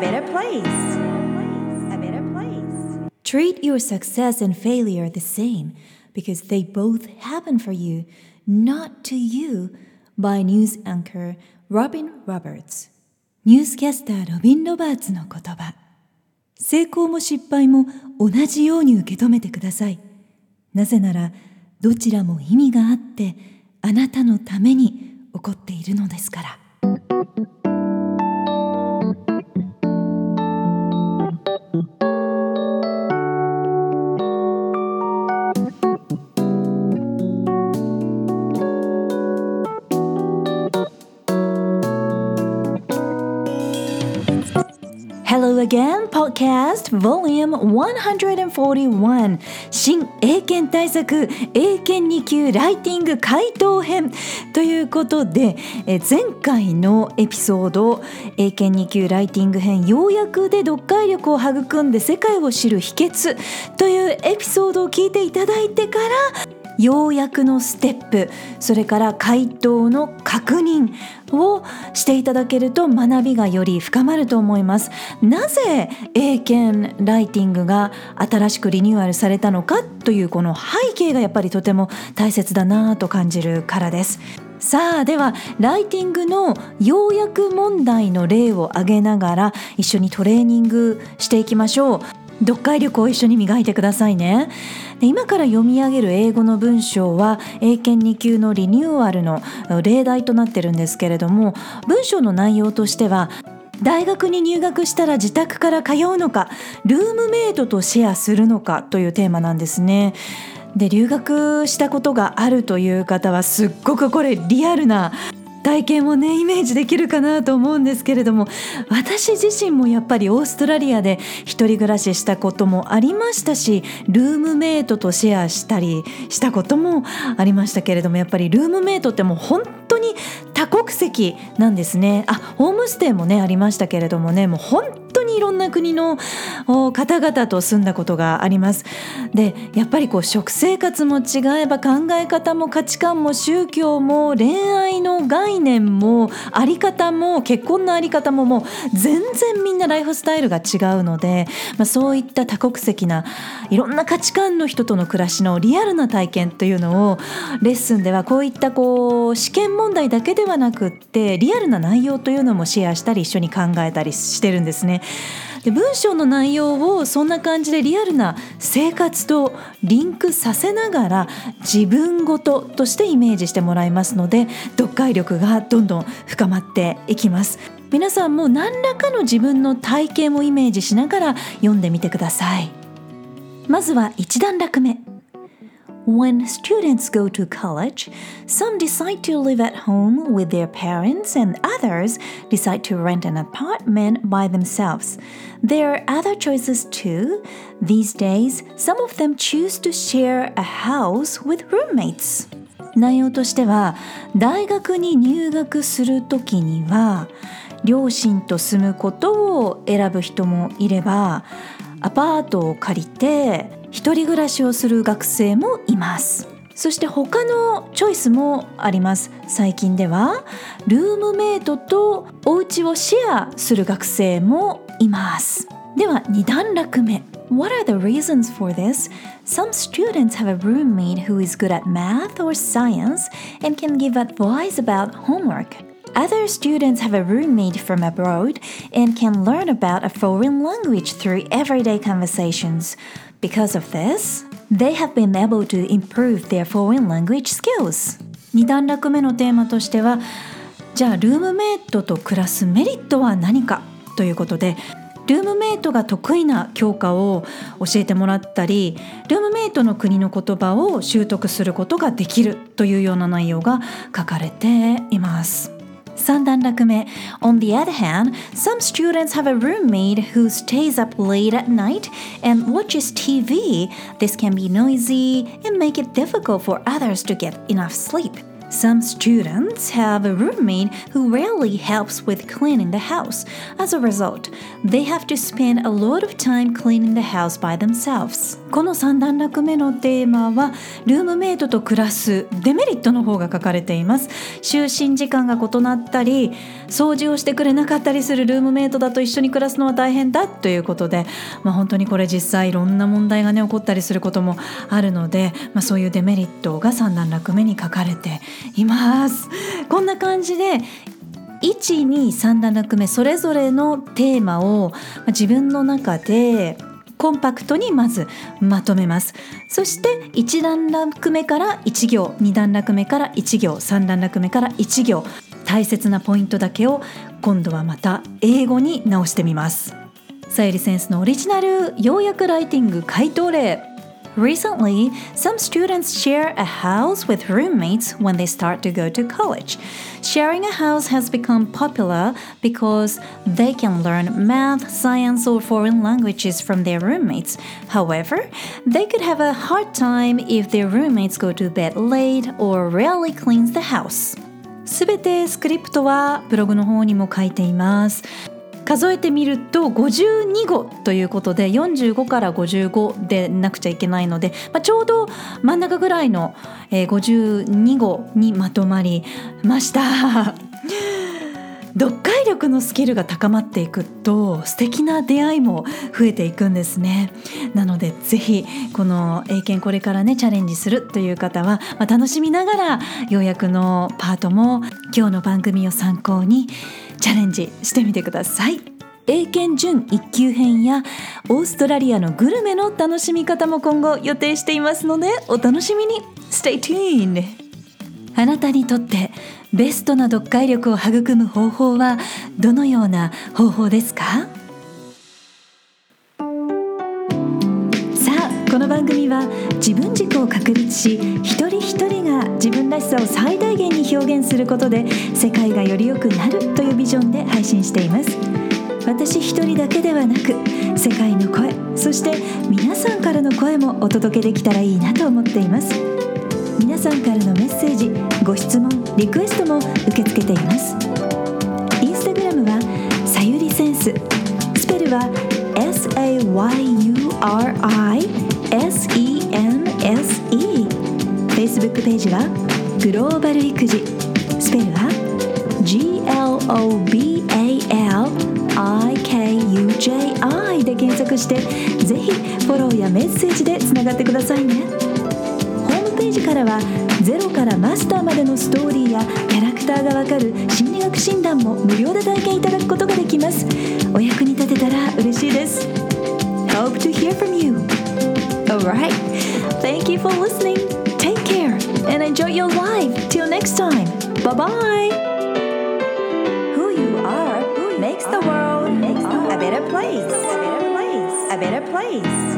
better place. A better place. Treat your success and failure the same because they both happen for you, not to you, by news anchor Robin Roberts。ニュースキャスターロビン・ロバーツの言葉。成功も失敗も同じように受け止めてください。なぜならどちらも意味があってあなたのために起こっているのですから。Hello again, podcast volume 141新英検対策英検2級ライティング回答編ということで、前回のエピソード英検2級ライティング編要約で読解力を育んで世界を知る秘訣というエピソードを聞いていただいてから要約のステップ、それから回答の確認をしていただけると学びがより深まると思います。なぜ英検ライティングが新しくリニューアルされたのかというこの背景がやっぱりとても大切だなと感じるからです。さあではライティングの要約問題の例を挙げながら一緒にトレーニングしていきましょう。読解力を一緒に磨いてくださいね。で今から読み上げる英語の文章は英検2級のリニューアルの例題となってるんですけれども、文章の内容としては大学に入学したら自宅から通うのかルームメイトとシェアするのかというテーマなんですね。で留学したことがあるという方はすっごくこれリアルな体験をねイメージできるかなと思うんですけれども、私自身もやっぱりオーストラリアで一人暮らししたこともありましたし、ルームメイトとシェアしたりしたこともありましたけれども、やっぱりルームメイトってもう本当に多国籍なんですね。ホームステイもねありましたけれどもね、もう本当にいろんな国の方々と住んだことがあります。でやっぱりこう食生活も違えば考え方も価値観も宗教も恋愛の概念もあり方も結婚のあり方ももう全然みんなライフスタイルが違うので、そういった多国籍ないろんな価値観の人との暮らしのリアルな体験というのをレッスンではこういった試験問題だけではなくってリアルな内容というのもシェアしたり一緒に考えたりしてるんですね。で文章の内容をそんな感じでリアルな生活とリンクさせながら自分ごととしてイメージしてもらいますので、読解力がどんどん深まっていきます。皆さんも何らかの自分の体験をイメージしながら読んでみてください。まずは一段落目。When students go to college, some decide to live at home with their parents and others decide to rent an apartment by themselves. There are other choices too. These days, some of them choose to share a house with roommates. 内容としては、大学に入学するときには、両親と住むことを選ぶ人もいれば、アパートを借りて一人暮らしをする学生もいます。そして他のチョイスもあります。最近ではルームメイトとお家をシェアする学生もいます。では2段落目。What are the reasons for this? Some students have a roommate who is good at math or science and can give advice about homework.Other students have a roommate from abroad and can learn about a foreign language through everyday conversations. Because of this, they have been able to improve their foreign language skills. 2段落目のテーマとしては、じゃあルームメイトと暮らすメリットは何かということで、ルームメイトが得意な教科を教えてもらったり、ルームメイトの国の言葉を習得することができるというような内容が書かれています。3段落目。On the other hand, some students have a roommate who stays up late at night and watches TV. This can be noisy and make it difficult for others to get enough sleep. Some students have a roommate who rarely helps with cleaning the house. As a result, they have to spend a lot of time cleaning the house by themselves. この3段落目のテーマはルームメイトと暮らすデメリットの方が書かれています。就寝時間が異なったり、掃除をしてくれなかったりするルームメイトだと一緒に暮らすのは大変だということで、本当にこれ実際いろんな問題がね起こったりすることもあるので、そういうデメリットが3段落目に書かれています。こんな感じで1、2、3段落目それぞれのテーマを自分の中でコンパクトにまずまとめます。そして1段落目から1行、2段落目から1行、3段落目から1行、大切なポイントだけを今度はまた英語に直してみます。さゆりセンスのオリジナル要約ライティング回答例。Recently, some students share a house with roommates when they start to go to college. Sharing a house has become popular because they can learn math, science, or foreign languages from their roommates. However, they could have a hard time if their roommates go to bed late or rarely cleans the house. すべてスクリプトはブログの方にも書いています。数えてみると52語ということで45から55でなくちゃいけないので、ちょうど真ん中ぐらいの52語にまとまりました。読解力のスキルが高まっていくと素敵な出会いも増えていくんですね。なのでぜひこの英検これからねチャレンジするという方は、楽しみながら要約のパートも今日の番組を参考にチャレンジしてみてください。英検準1級編やオーストラリアのグルメの楽しみ方も今後予定していますのでお楽しみに。 Stay tuned。 あなたにとってベストな読解力を育む方法はどのような方法ですか？さあ、この番組は自分軸を確立し、一人一人が自分らしさを最大限に表現することで世界がより良くなるというビジョンで配信しています。私一人だけではなく世界の声、そして皆さんからの声もお届けできたらいいなと思っています。皆さんからのメッセージ、ご質問、リクエストも受け付けています。インスタグラムはさゆりセンス、スペルは SAYURISENSE。 Facebook ページはグローバル育児、スペルは GLOBALIKUJI で検索してぜひフォローやメッセージでつながってくださいね。ホームページからはゼロからマスターまでのストーリーやキャラクターがわかる心理学診断も無料で体験いただくことができます。お役に立てたら嬉しいです。 Hope to hear from you. Alright, thank you for listening. Take care and enjoy your life. Till next time. Bye bye. Who you are makes the world a better place. A better place.